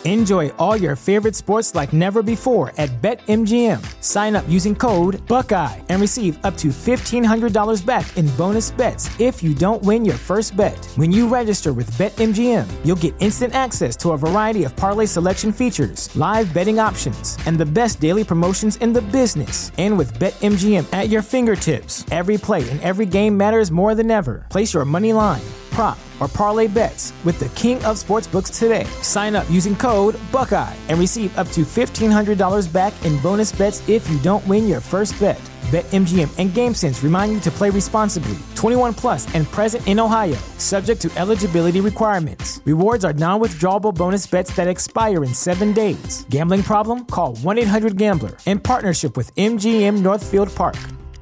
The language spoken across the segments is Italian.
Enjoy all your favorite sports like never before at BetMGM. Sign up using code Buckeye and receive up to $1,500 back in bonus bets if you don't win your first bet. When you register with BetMGM, you'll get instant access to a variety of parlay selection features, live betting options, and the best daily promotions in the business. And with BetMGM at your fingertips, every play and every game matters more than ever. Place your money line, prop, or parlay bets with the king of sportsbooks today. Sign up using code Buckeye and receive up to $1,500 back in bonus bets if you don't win your first bet. BetMGM and GameSense remind you to play responsibly. 21 plus and present in Ohio, subject to eligibility requirements. Rewards are non-withdrawable bonus bets that expire in 7 days. Gambling problem? Call 1-800-GAMBLER. In partnership with MGM Northfield Park.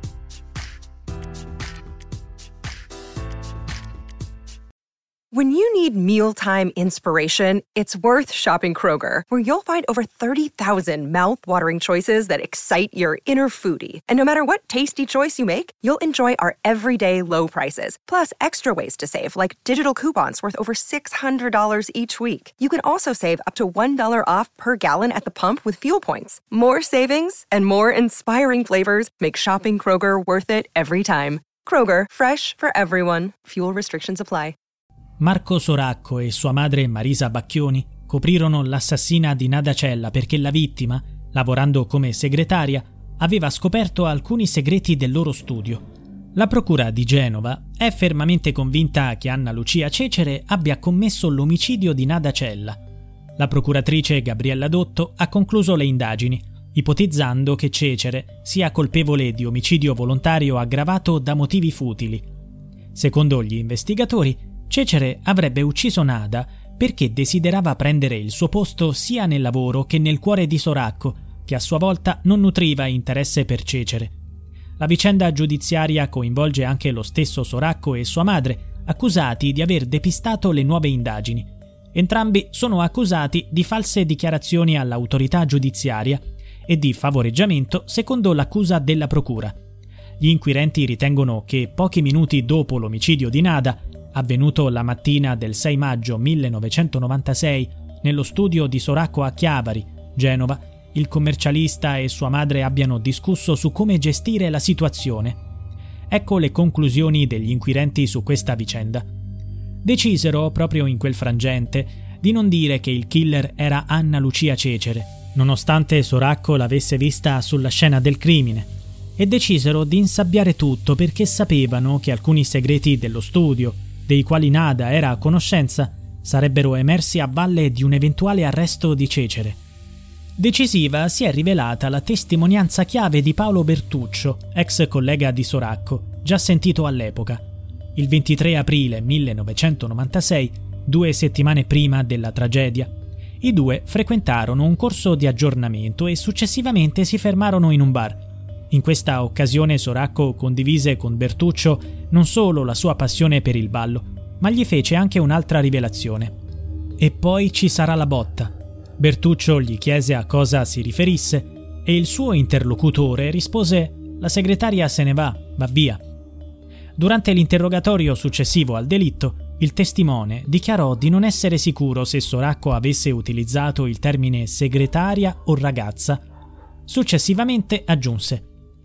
When you need mealtime inspiration, it's worth shopping Kroger, where you'll find over 30,000 mouth-watering choices that excite your inner foodie. And no matter what tasty choice you make, you'll enjoy our everyday low prices, plus extra ways to save, like digital coupons worth over $600 each week. You can also save up to $1 off per gallon at the pump with fuel points. More savings and more inspiring flavors make shopping Kroger worth it every time. Kroger, fresh for everyone. Fuel restrictions apply. Marco Soracco e sua madre Marisa Bacchioni coprirono l'assassina di Nada Cella perché la vittima, lavorando come segretaria, aveva scoperto alcuni segreti del loro studio. La procura di Genova è fermamente convinta che Anna Lucia Cecere abbia commesso l'omicidio di Nada Cella. La procuratrice Gabriella Dotto ha concluso le indagini, ipotizzando che Cecere sia colpevole di omicidio volontario aggravato da motivi futili. Secondo gli investigatori, Cecere avrebbe ucciso Nada perché desiderava prendere il suo posto sia nel lavoro che nel cuore di Soracco, che a sua volta non nutriva interesse per Cecere. La vicenda giudiziaria coinvolge anche lo stesso Soracco e sua madre, accusati di aver depistato le nuove indagini. Entrambi sono accusati di false dichiarazioni all'autorità giudiziaria e di favoreggiamento secondo l'accusa della procura. Gli inquirenti ritengono che pochi minuti dopo l'omicidio di Nada, avvenuto la mattina del 6 maggio 1996 nello studio di Soracco a Chiavari, Genova, il commercialista e sua madre abbiano discusso su come gestire la situazione. Ecco le conclusioni degli inquirenti su questa vicenda. Decisero, proprio in quel frangente, di non dire che il killer era Anna Lucia Cecere, nonostante Soracco l'avesse vista sulla scena del crimine, e decisero di insabbiare tutto perché sapevano che alcuni segreti dello studio, dei quali Nada era a conoscenza, sarebbero emersi a valle di un eventuale arresto di Cecere. Decisiva si è rivelata la testimonianza chiave di Paolo Bertuccio, ex collega di Soracco, già sentito all'epoca. Il 23 aprile 1996, 2 settimane prima della tragedia, i due frequentarono un corso di aggiornamento e successivamente si fermarono in un bar. In questa occasione Soracco condivise con Bertuccio non solo la sua passione per il ballo, ma gli fece anche un'altra rivelazione. E poi ci sarà la botta. Bertuccio gli chiese a cosa si riferisse e il suo interlocutore rispose: la segretaria se ne va via. Durante l'interrogatorio successivo al delitto, il testimone dichiarò di non essere sicuro se Soracco avesse utilizzato il termine segretaria o ragazza. Successivamente aggiunse: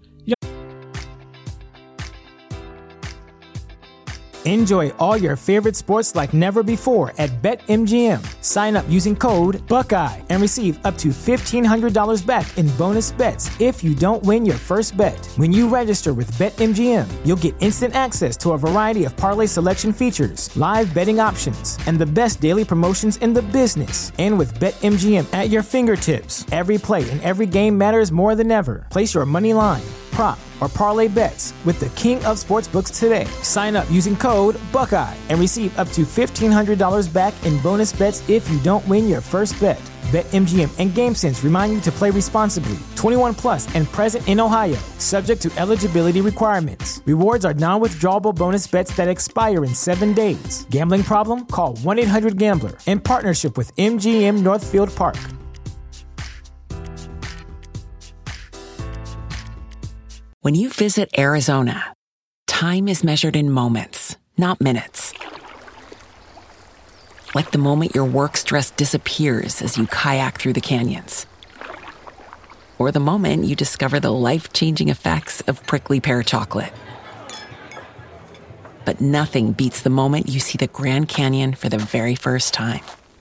Enjoy all your favorite sports like never before at BetMGM. Sign up using code Buckeye and receive up to $1,500 back in bonus bets if you don't win your first bet. When you register with BetMGM, you'll get instant access to a variety of parlay selection features, live betting options, and the best daily promotions in the business. And with BetMGM at your fingertips, every play and every game matters more than ever. Place your money line, prop, or parlay bets with the king of sportsbooks today. Sign up using code Buckeye and receive up to $1,500 back in bonus bets if you don't win your first bet. BetMGM and GameSense remind you to play responsibly. 21 plus and present in Ohio, subject to eligibility requirements. Rewards are non-withdrawable bonus bets that expire in 7 days. Gambling problem? Call 1-800-GAMBLER. In partnership with MGM Northfield Park. When you visit Arizona, time is measured in moments, not minutes. Like the moment your work stress disappears as you kayak through the canyons. Or the moment you discover the life-changing effects of prickly pear chocolate. But nothing beats the moment you see the Grand Canyon for the very first time.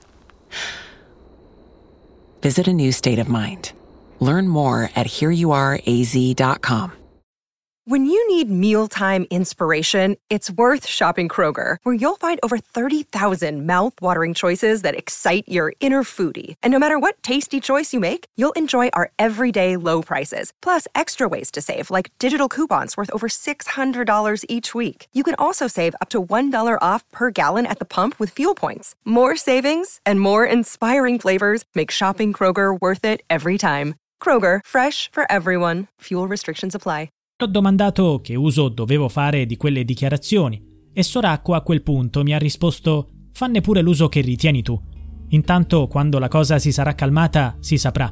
Visit a new state of mind. Learn more at hereyouareaz.com. When you need mealtime inspiration, it's worth shopping Kroger, where you'll find over 30,000 mouth-watering choices that excite your inner foodie. And no matter what tasty choice you make, you'll enjoy our everyday low prices, plus extra ways to save, like digital coupons worth over $600 each week. You can also save up to $1 off per gallon at the pump with fuel points. More savings and more inspiring flavors make shopping Kroger worth it every time. Kroger, fresh for everyone. Fuel restrictions apply. Ho domandato che uso dovevo fare di quelle dichiarazioni e Soracco a quel punto mi ha risposto: fanne pure l'uso che ritieni tu. Intanto, quando la cosa si sarà calmata, si saprà.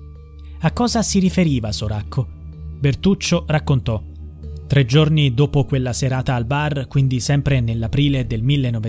A cosa si riferiva Soracco? Bertuccio raccontò. 3 giorni dopo quella serata al bar, quindi sempre nell'aprile del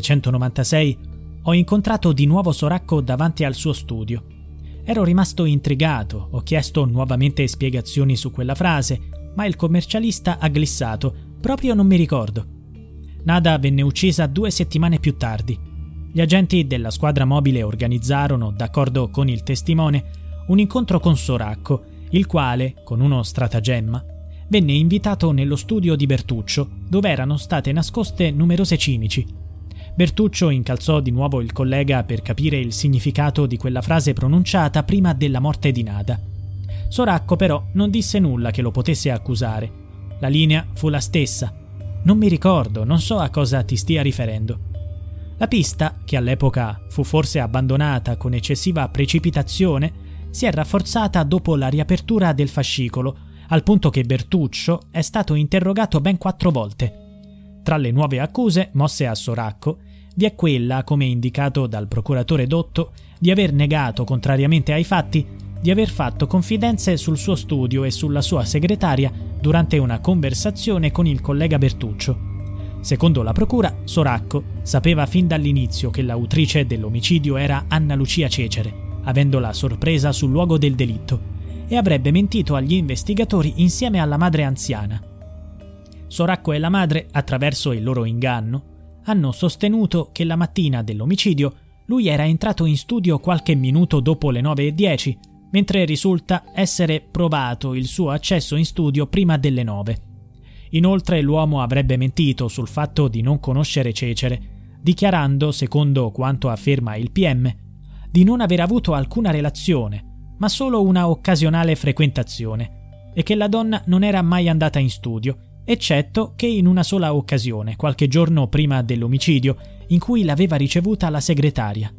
1996, ho incontrato di nuovo Soracco davanti al suo studio. Ero rimasto intrigato, ho chiesto nuovamente spiegazioni su quella frase, ma il commercialista ha glissato: proprio non mi ricordo. Nada venne uccisa 2 settimane più tardi. Gli agenti della squadra mobile organizzarono, d'accordo con il testimone, un incontro con Soracco, il quale, con uno stratagemma, venne invitato nello studio di Bertuccio, dove erano state nascoste numerose cimici. Bertuccio incalzò di nuovo il collega per capire il significato di quella frase pronunciata prima della morte di Nada. Soracco però non disse nulla che lo potesse accusare. La linea fu la stessa. Non mi ricordo, non so a cosa ti stia riferendo. La pista, che all'epoca fu forse abbandonata con eccessiva precipitazione, si è rafforzata dopo la riapertura del fascicolo, al punto che Bertuccio è stato interrogato ben 4 volte. Tra le nuove accuse mosse a Soracco vi è quella, come indicato dal procuratore Dotto, di aver negato, contrariamente ai fatti, di aver fatto confidenze sul suo studio e sulla sua segretaria durante una conversazione con il collega Bertuccio. Secondo la procura, Soracco sapeva fin dall'inizio che l'autrice dell'omicidio era Anna Lucia Cecere, avendola sorpresa sul luogo del delitto, e avrebbe mentito agli investigatori insieme alla madre anziana. Soracco e la madre, attraverso il loro inganno, hanno sostenuto che la mattina dell'omicidio lui era entrato in studio qualche minuto dopo le 9:10, mentre risulta essere provato il suo accesso in studio prima delle 9. Inoltre l'uomo avrebbe mentito sul fatto di non conoscere Cecere, dichiarando, secondo quanto afferma il PM, di non aver avuto alcuna relazione, ma solo una occasionale frequentazione, e che la donna non era mai andata in studio, eccetto che in una sola occasione, qualche giorno prima dell'omicidio, in cui l'aveva ricevuta la segretaria.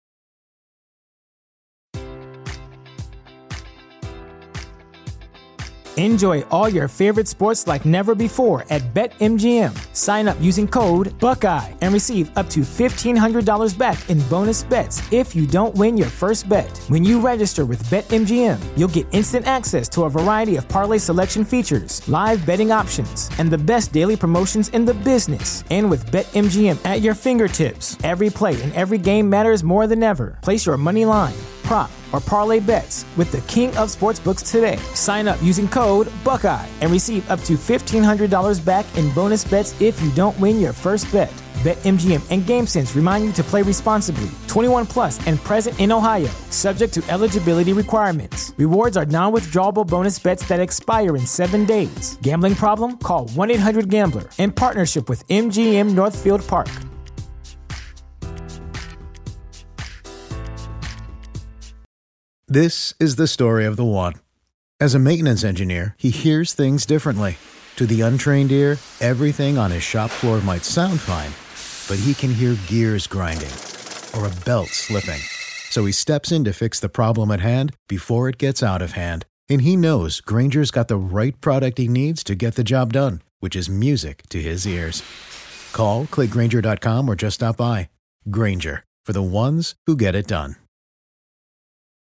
Enjoy all your favorite sports like never before at BetMGM. Sign up using code Buckeye and receive up to $1,500 back in bonus bets if you don't win your first bet. When you register with BetMGM, you'll get instant access to a variety of parlay selection features, live betting options, and the best daily promotions in the business. And with BetMGM at your fingertips, every play and every game matters more than ever. Place your money line, prop, or parlay bets with the king of sportsbooks today. Sign up using code Buckeye and receive up to $1,500 back in bonus bets if you don't win your first bet. BetMGM and GameSense remind you to play responsibly. 21 plus and present in Ohio, subject to eligibility requirements. Rewards are non-withdrawable bonus bets that expire in 7 days. Gambling problem? Call 1-800-GAMBLER in partnership with MGM Northfield Park. This is the story of the one. As a maintenance engineer, he hears things differently. To the untrained ear, everything on his shop floor might sound fine, but he can hear gears grinding or a belt slipping. So he steps in to fix the problem at hand before it gets out of hand. And he knows Grainger's got the right product he needs to get the job done, which is music to his ears. Call, click Grainger.com, or just stop by. Grainger, for the ones who get it done.